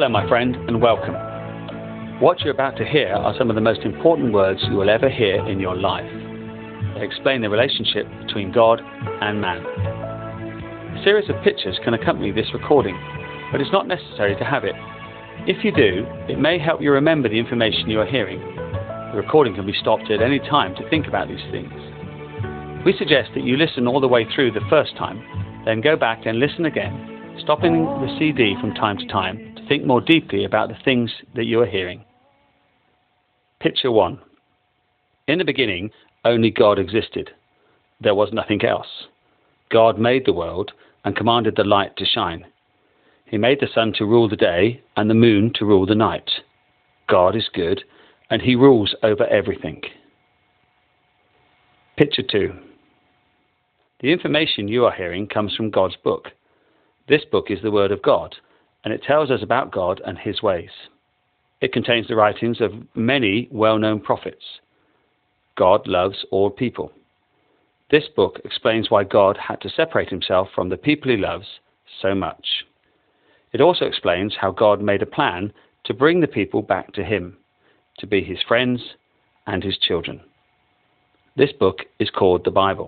Hello, my friend, and welcome. What you're about to hear are some of the most important words you will ever hear in your life. They explain the relationship between God and man. A series of pictures can accompany this recording, but it's not necessary to have it. If you do, it may help you remember the information you are hearing. The recording can be stopped at any time to think about these things. We suggest that you listen all the way through the first time, then go back and listen again, stopping the CD from time to time to think more deeply about the things that you are hearing. Picture 1. In the beginning, only God existed. There was nothing else. God made the world and commanded the light to shine. He made the sun to rule the day and the moon to rule the night. God is good, and He rules over everything. Picture 2. The information you are hearing comes from God's book. This book is the Word of God, and it tells us about God and His ways. It contains the writings of many well-known prophets. God loves all people. This book explains why God had to separate Himself from the people He loves so much. It also explains how God made a plan to bring the people back to Him, to be His friends and His children. This book is called the Bible.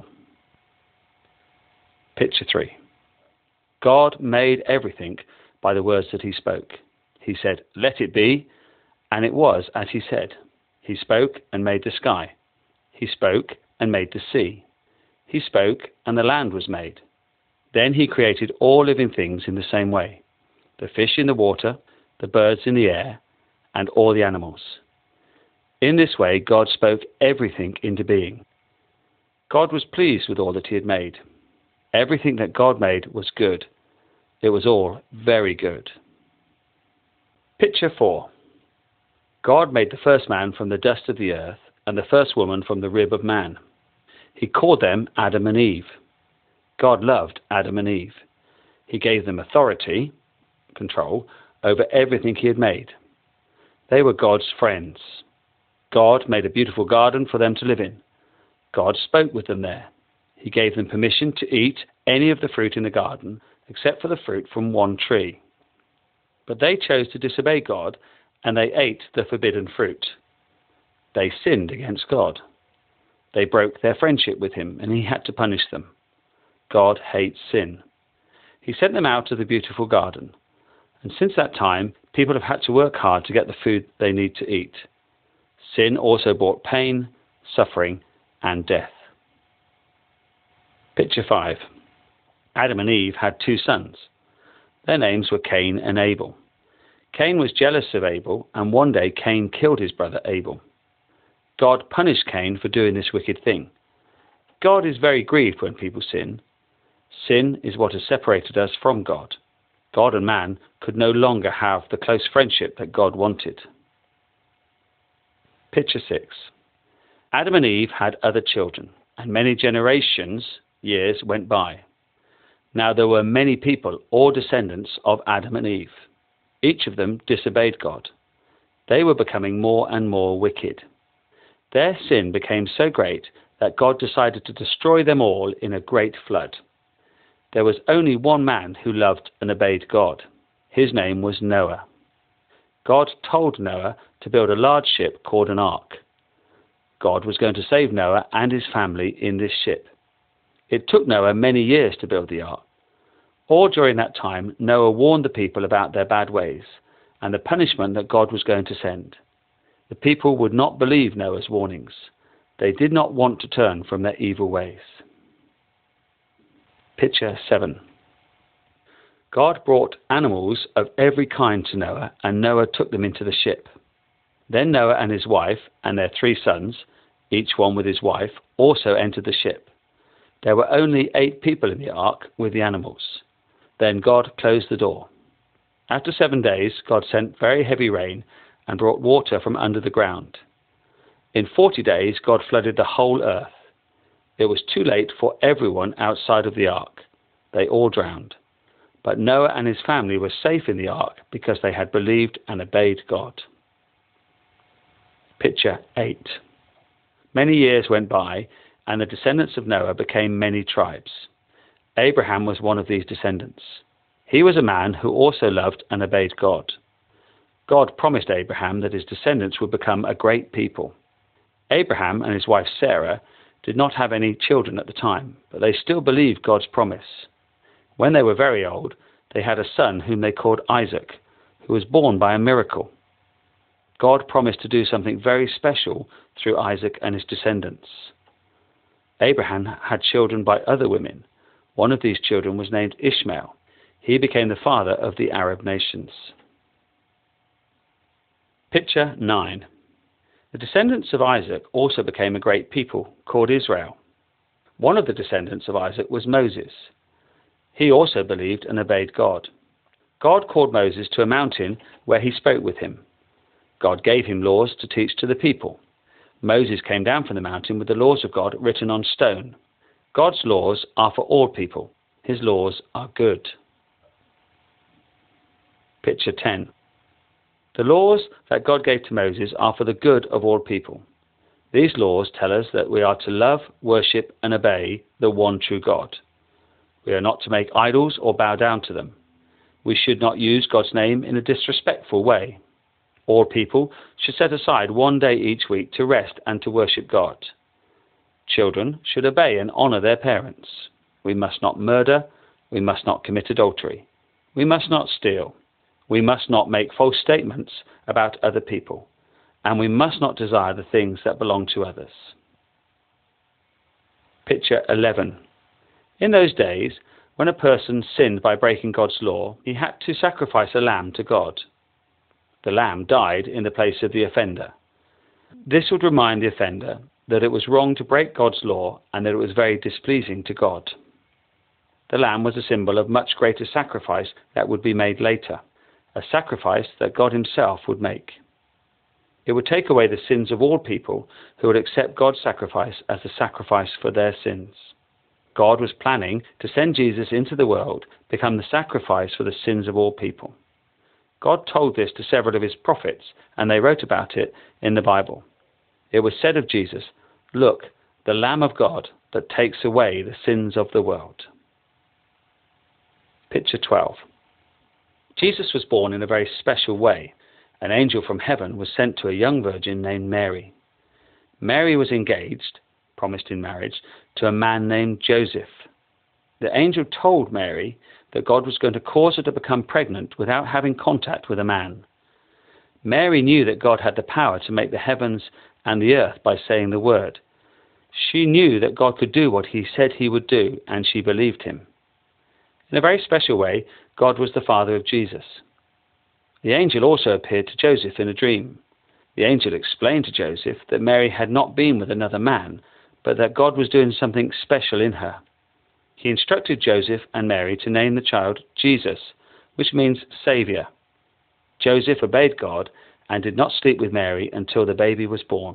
Picture 3. God made everything by the words that He spoke. He said, "Let it be," and it was as He said. He spoke and made the sky. He spoke and made the sea. He spoke and the land was made. Then He created all living things in the same way, the fish in the water, the birds in the air, and all the animals. In this way, God spoke everything into being. God was pleased with all that He had made. Everything that God made was good. It was all very good. Picture 4. God made the first man from the dust of the earth and the first woman from the rib of man. He called them Adam and Eve. God loved Adam and Eve. He gave them authority, control, over everything He had made. They were God's friends. God made a beautiful garden for them to live in. God spoke with them there. He gave them permission to eat any of the fruit in the garden, except for the fruit from one tree. But they chose to disobey God, and they ate the forbidden fruit. They sinned against God. They broke their friendship with Him, and He had to punish them. God hates sin. He sent them out of the beautiful garden. And since that time, people have had to work hard to get the food they need to eat. Sin also brought pain, suffering, and death. Picture 5. Adam and Eve had 2 sons. Their names were Cain and Abel. Cain was jealous of Abel, and one day Cain killed his brother Abel. God punished Cain for doing this wicked thing. God is very grieved when people sin. Sin is what has separated us from God. God and man could no longer have the close friendship that God wanted. Picture 6. Adam and Eve had other children, and many years went by. Now there were many people, all descendants of Adam and Eve. Each of them disobeyed God. They were becoming more and more wicked. Their sin became so great that God decided to destroy them all in a great flood. There was only one man who loved and obeyed God. His name was Noah. God told Noah to build a large ship called an ark. God was going to save Noah and his family in this ship. It took Noah many years to build the ark. All during that time, Noah warned the people about their bad ways and the punishment that God was going to send. The people would not believe Noah's warnings. They did not want to turn from their evil ways. Picture 7. God brought animals of every kind to Noah, and Noah took them into the ship. Then Noah and his wife and their 3 sons, each one with his wife, also entered the ship. There were only 8 people in the ark with the animals. Then God closed the door. After 7 days, God sent very heavy rain and brought water from under the ground. In 40 days, God flooded the whole earth. It was too late for everyone outside of the ark. They all drowned. But Noah and his family were safe in the ark because they had believed and obeyed God. Picture 8. Many years went by, and the descendants of Noah became many tribes. Abraham was one of these descendants. He was a man who also loved and obeyed God. God promised Abraham that his descendants would become a great people. Abraham and his wife Sarah did not have any children at the time, but they still believed God's promise. When they were very old, they had a son whom they called Isaac, who was born by a miracle. God promised to do something very special through Isaac and his descendants. Abraham had children by other women. One of these children was named Ishmael. He became the father of the Arab nations. Picture 9. The descendants of Isaac also became a great people called Israel. One of the descendants of Isaac was Moses. He also believed and obeyed God. God called Moses to a mountain where he spoke with him. God gave him laws to teach to the people. Moses came down from the mountain with the laws of God written on stone. God's laws are for all people. His laws are good. Picture 10. The laws that God gave to Moses are for the good of all people. These laws tell us that we are to love, worship, and obey the one true God. We are not to make idols or bow down to them. We should not use God's name in a disrespectful way. All people should set aside one day each week to rest and to worship God. Children should obey and honor their parents. We must not murder. We must not commit adultery. We must not steal. We must not make false statements about other people. And we must not desire the things that belong to others. Picture 11. In those days, when a person sinned by breaking God's law, he had to sacrifice a lamb to God. The lamb died in the place of the offender. This would remind the offender that it was wrong to break God's law and that it was very displeasing to God. The lamb was a symbol of much greater sacrifice that would be made later, a sacrifice that God himself would make. It would take away the sins of all people who would accept God's sacrifice as the sacrifice for their sins. God was planning to send Jesus into the world, become the sacrifice for the sins of all people. God told this to several of his prophets, and they wrote about it in the Bible. It was said of Jesus, "Look, the Lamb of God that takes away the sins of the world." Picture 12. Jesus was born in a very special way. An angel from heaven was sent to a young virgin named Mary. Mary was engaged, promised in marriage, to a man named Joseph. The angel told Mary that God was going to cause her to become pregnant without having contact with a man. Mary knew that God had the power to make the heavens and the earth by saying the word. She knew that God could do what he said he would do, and she believed him. In a very special way, God was the father of Jesus. The angel also appeared to Joseph in a dream. The angel explained to Joseph that Mary had not been with another man, but that God was doing something special in her. He instructed Joseph and Mary to name the child Jesus, which means Saviour. Joseph obeyed God and did not sleep with Mary until the baby was born.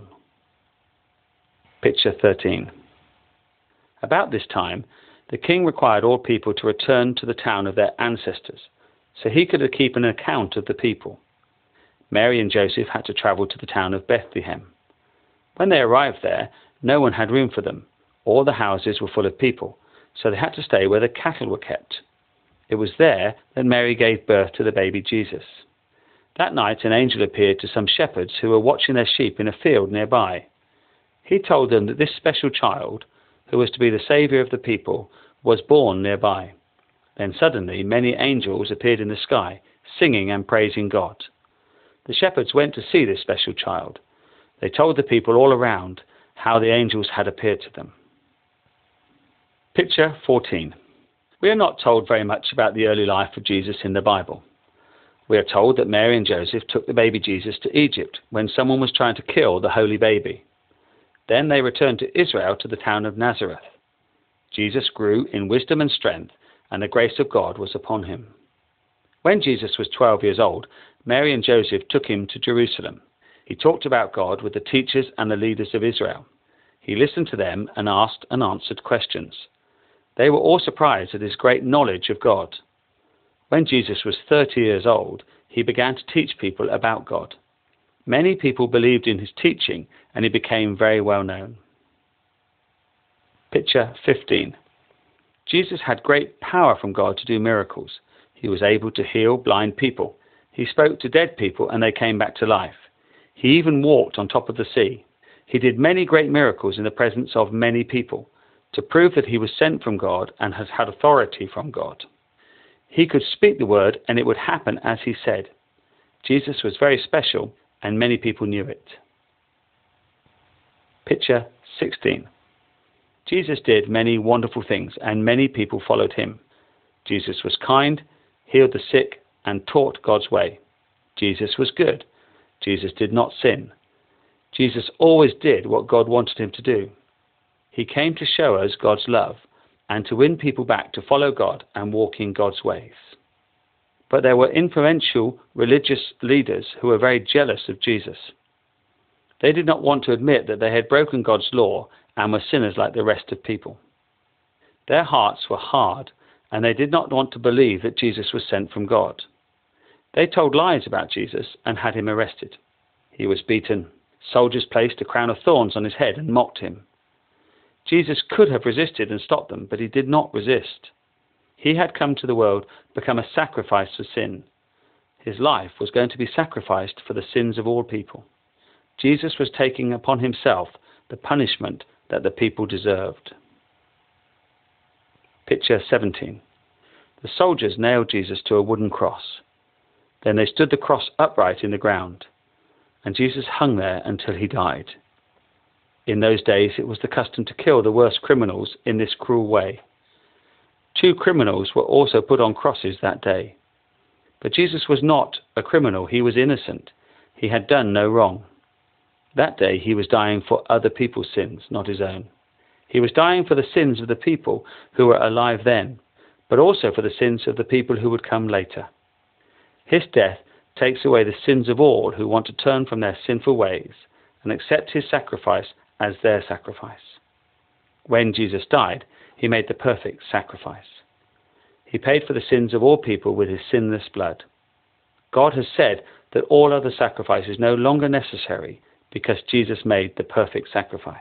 Picture 13. About this time, the king required all people to return to the town of their ancestors, so he could keep an account of the people. Mary and Joseph had to travel to the town of Bethlehem. When they arrived there, no one had room for them. All the houses were full of people, so they had to stay where the cattle were kept. It was there that Mary gave birth to the baby Jesus. That night an angel appeared to some shepherds who were watching their sheep in a field nearby. He told them that this special child, who was to be the saviour of the people, was born nearby. Then suddenly many angels appeared in the sky, singing and praising God. The shepherds went to see this special child. They told the people all around how the angels had appeared to them. Picture 14. We are not told very much about the early life of Jesus in the Bible. We are told that Mary and Joseph took the baby Jesus to Egypt when someone was trying to kill the holy baby. Then they returned to Israel to the town of Nazareth. Jesus grew in wisdom and strength, and the grace of God was upon him. When Jesus was 12 years old, Mary and Joseph took him to Jerusalem. He talked about God with the teachers and the leaders of Israel. He listened to them and asked and answered questions. They were all surprised at his great knowledge of God. When Jesus was 30 years old, he began to teach people about God. Many people believed in his teaching, and he became very well known. Picture 15. Jesus had great power from God to do miracles. He was able to heal blind people. He spoke to dead people and they came back to life. He even walked on top of the sea. He did many great miracles in the presence of many people to prove that he was sent from God and has had authority from God. He could speak the word and it would happen as he said. Jesus was very special and many people knew it. Picture 16. Jesus did many wonderful things and many people followed him. Jesus was kind, healed the sick, and taught God's way. Jesus was good. Jesus did not sin. Jesus always did what God wanted him to do. He came to show us God's love and to win people back to follow God and walk in God's ways. But there were influential religious leaders who were very jealous of Jesus. They did not want to admit that they had broken God's law and were sinners like the rest of people. Their hearts were hard and they did not want to believe that Jesus was sent from God. They told lies about Jesus and had him arrested. He was beaten. Soldiers placed a crown of thorns on his head and mocked him. Jesus could have resisted and stopped them, but he did not resist. He had come to the world, become a sacrifice for sin. His life was going to be sacrificed for the sins of all people. Jesus was taking upon himself the punishment that the people deserved. Picture 17. The soldiers nailed Jesus to a wooden cross. Then they stood the cross upright in the ground, and Jesus hung there until he died. In those days it was the custom to kill the worst criminals in this cruel way. 2 criminals were also put on crosses that day. But Jesus was not a criminal, he was innocent. He had done no wrong. That day he was dying for other people's sins, not his own. He was dying for the sins of the people who were alive then, but also for the sins of the people who would come later. His death takes away the sins of all who want to turn from their sinful ways and accept his sacrifice as their sacrifice. When Jesus died, he made the perfect sacrifice. He paid for the sins of all people with his sinless blood. God has said that all other sacrifice is no longer necessary because Jesus made the perfect sacrifice.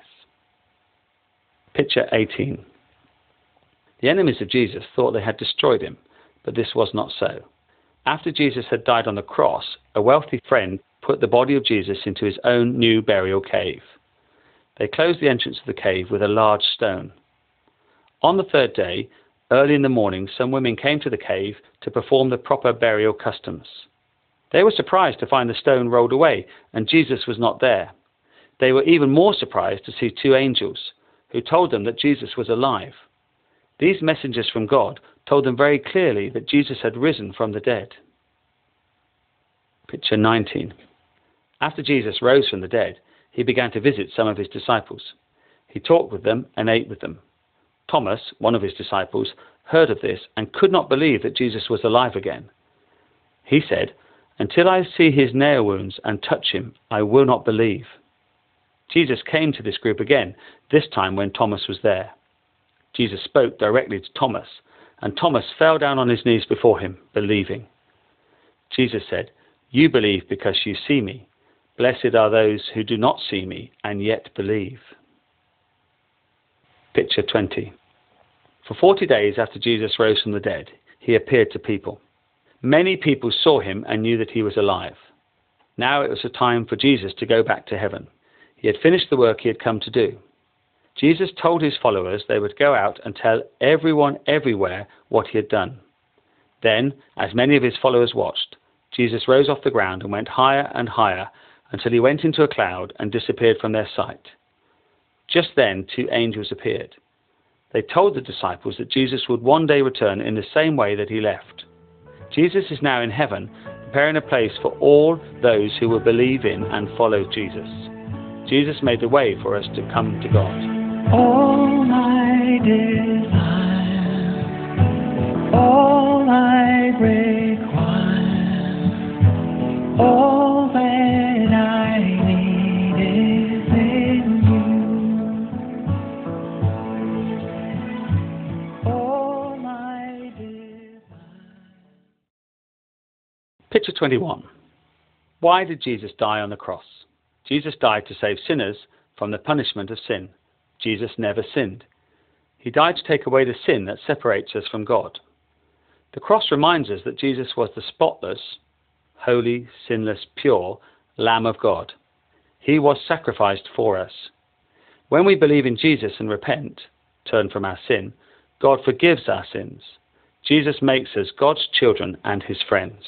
Picture 18. The enemies of Jesus thought they had destroyed him, but this was not so. After Jesus had died on the cross, a wealthy friend put the body of Jesus into his own new burial cave. They closed the entrance of the cave with a large stone. On the 3rd day, early in the morning, some women came to the cave to perform the proper burial customs. They were surprised to find the stone rolled away and Jesus was not there. They were even more surprised to see 2 angels who told them that Jesus was alive. These messengers from God told them very clearly that Jesus had risen from the dead. Picture 19. After Jesus rose from the dead, he began to visit some of his disciples. He talked with them and ate with them. Thomas, one of his disciples, heard of this and could not believe that Jesus was alive again. He said, "Until I see his nail wounds and touch him, I will not believe." Jesus came to this group again, this time when Thomas was there. Jesus spoke directly to Thomas, and Thomas fell down on his knees before him, believing. Jesus said, "You believe because you see me. Blessed are those who do not see me and yet believe." Picture 20. For 40 days after Jesus rose from the dead, he appeared to people. Many people saw him and knew that he was alive. Now it was a time for Jesus to go back to heaven. He had finished the work he had come to do. Jesus told his followers they would go out and tell everyone everywhere what he had done. Then, as many of his followers watched, Jesus rose off the ground and went higher and higher until he went into a cloud and disappeared from their sight. Just then 2 angels appeared. They told the disciples that Jesus would one day return in the same way that he left. Jesus is now in heaven, preparing a place for all those who will believe in and follow Jesus. Jesus made the way for us to come to God. All my desire, all I require, all that I need is in you. All my desire. Picture 21. Why did Jesus die on the cross? Jesus died to save sinners from the punishment of sin. Jesus never sinned. He died to take away the sin that separates us from God. The cross reminds us that Jesus was the spotless, holy, sinless, pure Lamb of God. He was sacrificed for us. When we believe in Jesus and repent, turn from our sin, God forgives our sins. Jesus makes us God's children and his friends.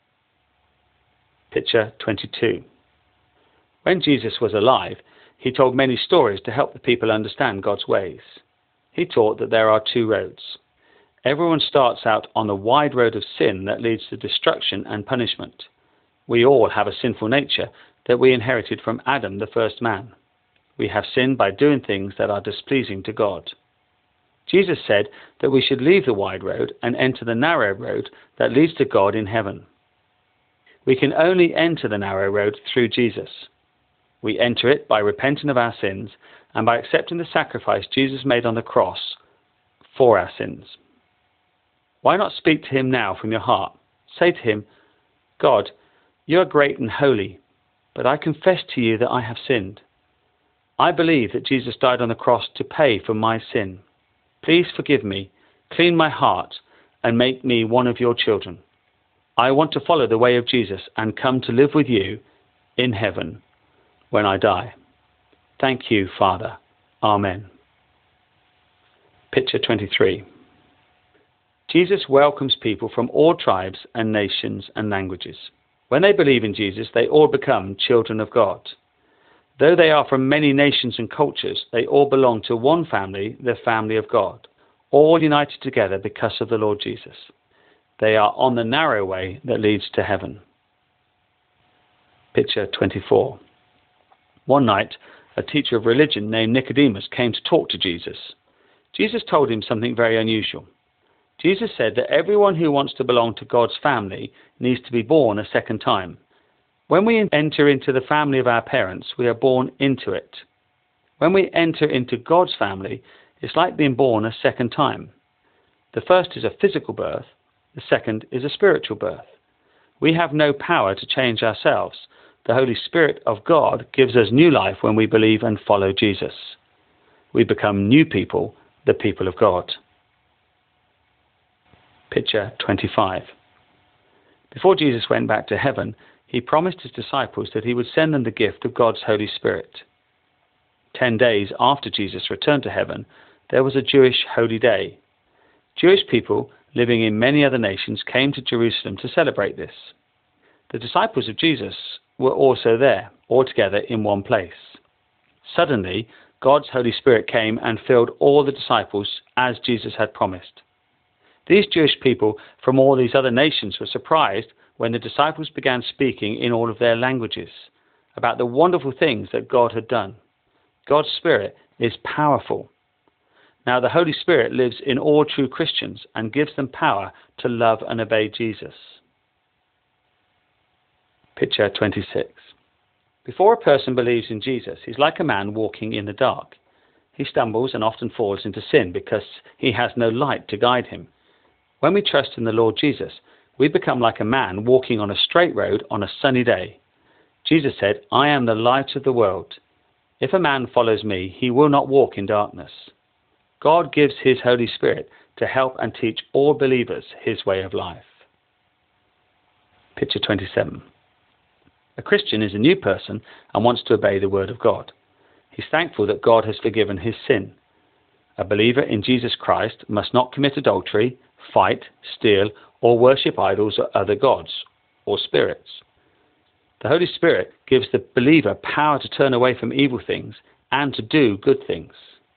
Picture 22. When Jesus was alive, he told many stories to help the people understand God's ways. He taught that there are two roads. Everyone starts out on the wide road of sin that leads to destruction and punishment. We all have a sinful nature that we inherited from Adam, the first man. We have sinned by doing things that are displeasing to God. Jesus said that we should leave the wide road and enter the narrow road that leads to God in heaven. We can only enter the narrow road through Jesus. We enter it by repenting of our sins and by accepting the sacrifice Jesus made on the cross for our sins. Why not speak to him now from your heart? Say to him, God, you are great and holy, but I confess to you that I have sinned. I believe that Jesus died on the cross to pay for my sin. Please forgive me, clean my heart, and make me one of your children. I want to follow the way of Jesus and come to live with you in heaven when I die. Thank you, Father. Amen. Picture 23. Jesus welcomes people from all tribes and nations and languages. When they believe in Jesus, they all become children of God. Though they are from many nations and cultures, they all belong to one family, the family of God, all united together because of the Lord Jesus. They are on the narrow way that leads to heaven. Picture 24. One night, a teacher of religion named Nicodemus came to talk to Jesus. Jesus told him something very unusual. Jesus said that everyone who wants to belong to God's family needs to be born a second time. When we enter into the family of our parents, we are born into it. When we enter into God's family, it's like being born a second time. The first is a physical birth. The second is a spiritual birth. We have no power to change ourselves. The Holy Spirit of God gives us new life when we believe and follow Jesus. We become new people, the people of God. Picture 25. Before Jesus went back to heaven, he promised his disciples that he would send them the gift of God's Holy Spirit. 10 days after Jesus returned to heaven, there was a Jewish holy day. Jewish people living in many other nations came to Jerusalem to celebrate this. The disciples of Jesus were also there, all together in one place. Suddenly, God's Holy Spirit came and filled all the disciples as Jesus had promised. These Jewish people from all these other nations were surprised when the disciples began speaking in all of their languages about the wonderful things that God had done. God's Spirit is powerful. Now the Holy Spirit lives in all true Christians and gives them power to love and obey Jesus. Picture 26. Before a person believes in Jesus, he's like a man walking in the dark. He stumbles and often falls into sin because he has no light to guide him. When we trust in the Lord Jesus, we become like a man walking on a straight road on a sunny day. Jesus said, I am the light of the world. If a man follows me, he will not walk in darkness. God gives his Holy Spirit to help and teach all believers his way of life. Picture 27. A Christian is a new person and wants to obey the word of God. He's thankful that God has forgiven his sin. A believer in Jesus Christ must not commit adultery, fight, steal, or worship idols or other gods or spirits. The Holy Spirit gives the believer power to turn away from evil things and to do good things.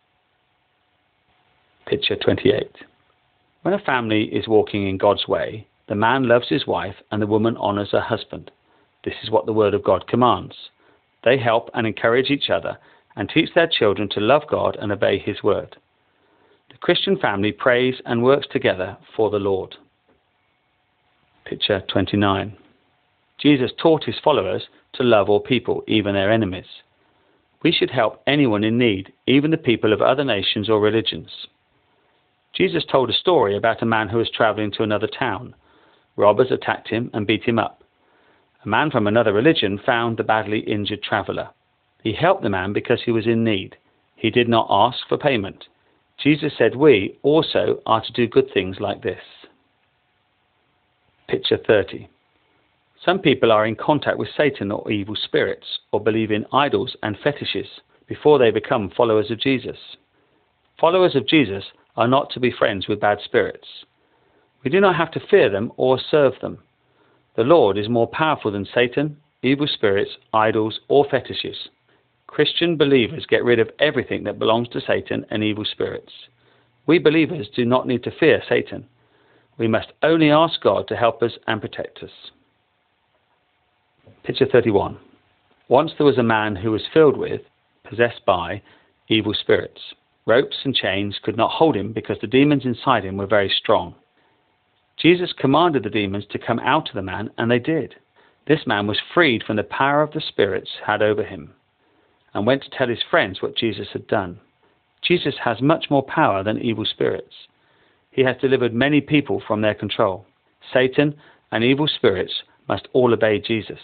Picture 28. When a family is walking in God's way, the man loves his wife and the woman honors her husband. This is what the Word of God commands. They help and encourage each other and teach their children to love God and obey his word. The Christian family prays and works together for the Lord. Picture 29. Jesus taught his followers to love all people, even their enemies. We should help anyone in need, even the people of other nations or religions. Jesus told a story about a man who was traveling to another town. Robbers attacked him and beat him up. A man from another religion found the badly injured traveler. He helped the man because he was in need. He did not ask for payment. Jesus said we also are to do good things like this. Picture 30. Some people are in contact with Satan or evil spirits, or believe in idols and fetishes before they become followers of Jesus. Followers of Jesus are not to be friends with bad spirits. We do not have to fear them or serve them. The Lord is more powerful than Satan, evil spirits, idols, or fetishes. Christian believers get rid of everything that belongs to Satan and evil spirits. We believers do not need to fear Satan. We must only ask God to help us and protect us. Picture 31. Once there was a man who was filled with, possessed by, evil spirits. Ropes and chains could not hold him because the demons inside him were very strong. Jesus commanded the demons to come out of the man, and they did. This man was freed from the power of the spirits had over him, and went to tell his friends what Jesus had done. Jesus has much more power than evil spirits. He has delivered many people from their control. Satan and evil spirits must all obey Jesus.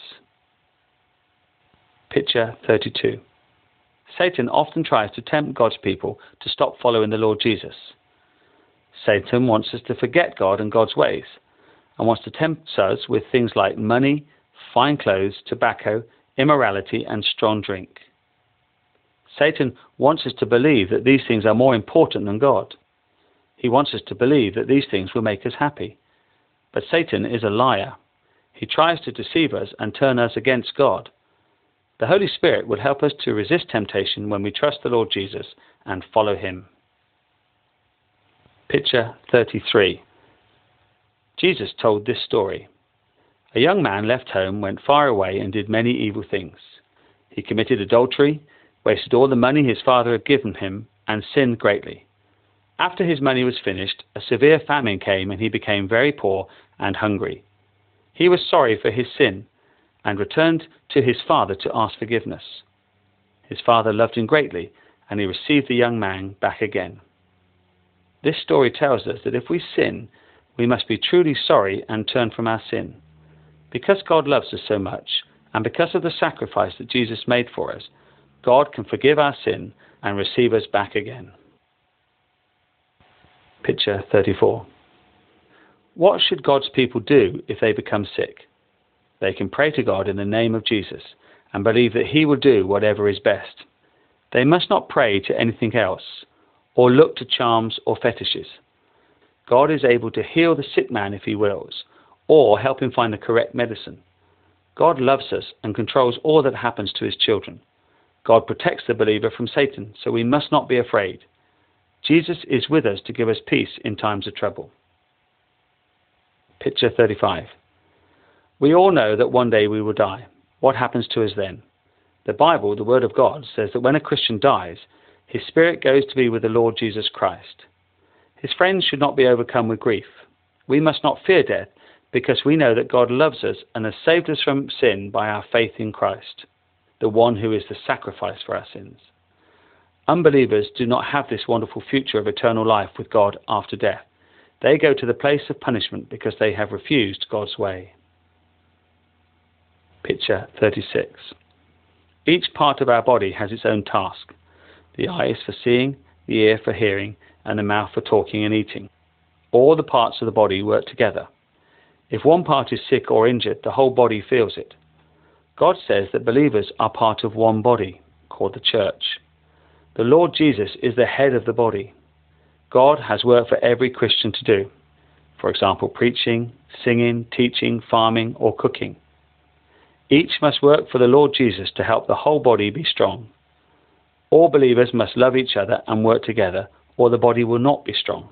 Picture 32. Satan often tries to tempt God's people to stop following the Lord Jesus. Satan wants us to forget God and God's ways, and wants to tempt us with things like money, fine clothes, tobacco, immorality, and strong drink. Satan wants us to believe that these things are more important than God. He wants us to believe that these things will make us happy. But Satan is a liar. He tries to deceive us and turn us against God. The Holy Spirit will help us to resist temptation when we trust the Lord Jesus and follow him. Picture 33. Jesus told this story. A young man left home, went far away, and did many evil things. He committed adultery, wasted all the money his father had given him, and sinned greatly. After his money was finished, a severe famine came, and he became very poor and hungry. He was sorry for his sin, and returned to his father to ask forgiveness. His father loved him greatly, and he received the young man back again. This story tells us that if we sin, we must be truly sorry and turn from our sin. Because God loves us so much, and because of the sacrifice that Jesus made for us, God can forgive our sin and receive us back again. Picture 34. What should God's people do if they become sick? They can pray to God in the name of Jesus and believe that he will do whatever is best. They must not pray to anything else or look to charms or fetishes. God is able to heal the sick man if he wills, or help him find the correct medicine. God loves us and controls all that happens to his children. God protects the believer from Satan, so we must not be afraid. Jesus is with us to give us peace in times of trouble. Picture 35. We all know that one day we will die. What happens to us then? The Bible, the Word of God, says that when a Christian dies, his spirit goes to be with the Lord Jesus Christ. His friends should not be overcome with grief. We must not fear death, because we know that God loves us and has saved us from sin by our faith in Christ, the one who is the sacrifice for our sins. Unbelievers do not have this wonderful future of eternal life with God after death. They go to the place of punishment because they have refused God's way. Picture 36. Each part of our body has its own task. The eye is for seeing, the ear for hearing, and the mouth for talking and eating. All the parts of the body work together. If one part is sick or injured, the whole body feels it. God says that believers are part of one body, called the church. The Lord Jesus is the head of the body. God has work for every Christian to do. For example, preaching, singing, teaching, farming, or cooking. Each must work for the Lord Jesus to help the whole body be strong. All believers must love each other and work together, or the body will not be strong.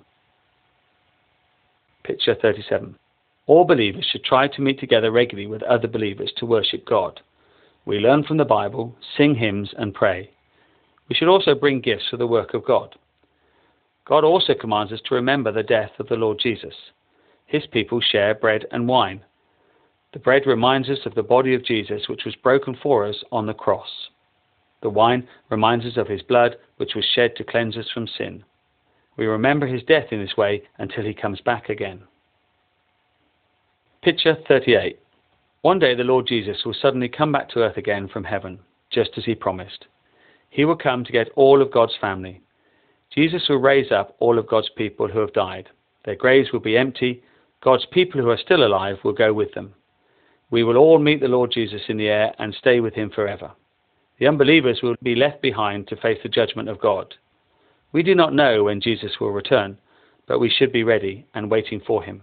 Picture 37. All believers should try to meet together regularly with other believers to worship God. We learn from the Bible, sing hymns, and pray. We should also bring gifts for the work of God. God also commands us to remember the death of the Lord Jesus. His people share bread and wine. The bread reminds us of the body of Jesus, which was broken for us on the cross. The wine reminds us of his blood, which was shed to cleanse us from sin. We remember his death in this way until he comes back again. Picture 38. One day the Lord Jesus will suddenly come back to earth again from heaven, just as he promised. He will come to get all of God's family. Jesus will raise up all of God's people who have died. Their graves will be empty. God's people who are still alive will go with them. We will all meet the Lord Jesus in the air and stay with him forever. The unbelievers will be left behind to face the judgment of God. We do not know when Jesus will return, but we should be ready and waiting for him.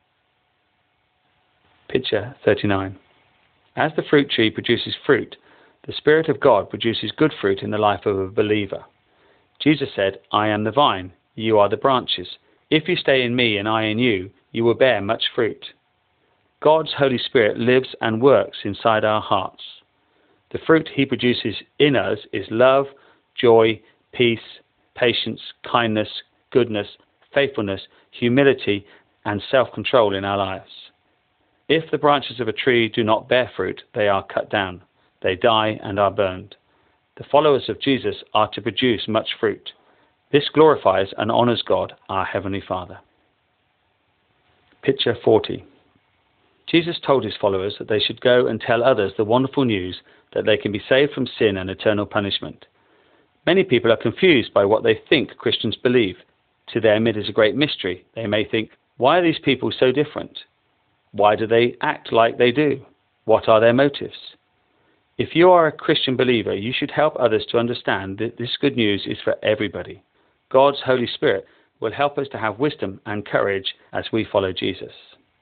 Picture 39. As the fruit tree produces fruit, the Spirit of God produces good fruit in the life of a believer. Jesus said, I am the vine, you are the branches. If you stay in me and I in you, you will bear much fruit. God's Holy Spirit lives and works inside our hearts. The fruit he produces in us is love, joy, peace, patience, kindness, goodness, faithfulness, humility, and self-control in our lives. If the branches of a tree do not bear fruit, they are cut down. They die and are burned. The followers of Jesus are to produce much fruit. This glorifies and honors God, our Heavenly Father. Picture 40. Jesus told his followers that they should go and tell others the wonderful news that they can be saved from sin and eternal punishment. Many people are confused by what they think Christians believe. To them it is a great mystery. They may think, why are these people so different? Why do they act like they do? What are their motives? If you are a Christian believer, you should help others to understand that this good news is for everybody. God's Holy Spirit will help us to have wisdom and courage as we follow Jesus.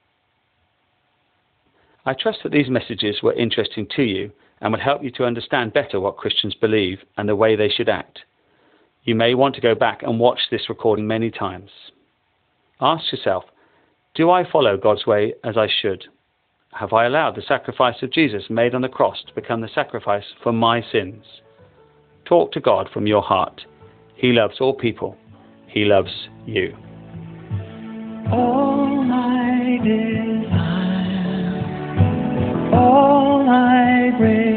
I trust that these messages were interesting to you and will help you to understand better what Christians believe and the way they should act. You may want to go back and watch this recording many times. Ask yourself, do I follow God's way as I should? Have I allowed the sacrifice of Jesus made on the cross to become the sacrifice for my sins? Talk to God from your heart. He loves all people. He loves you. All my desire, all I pray.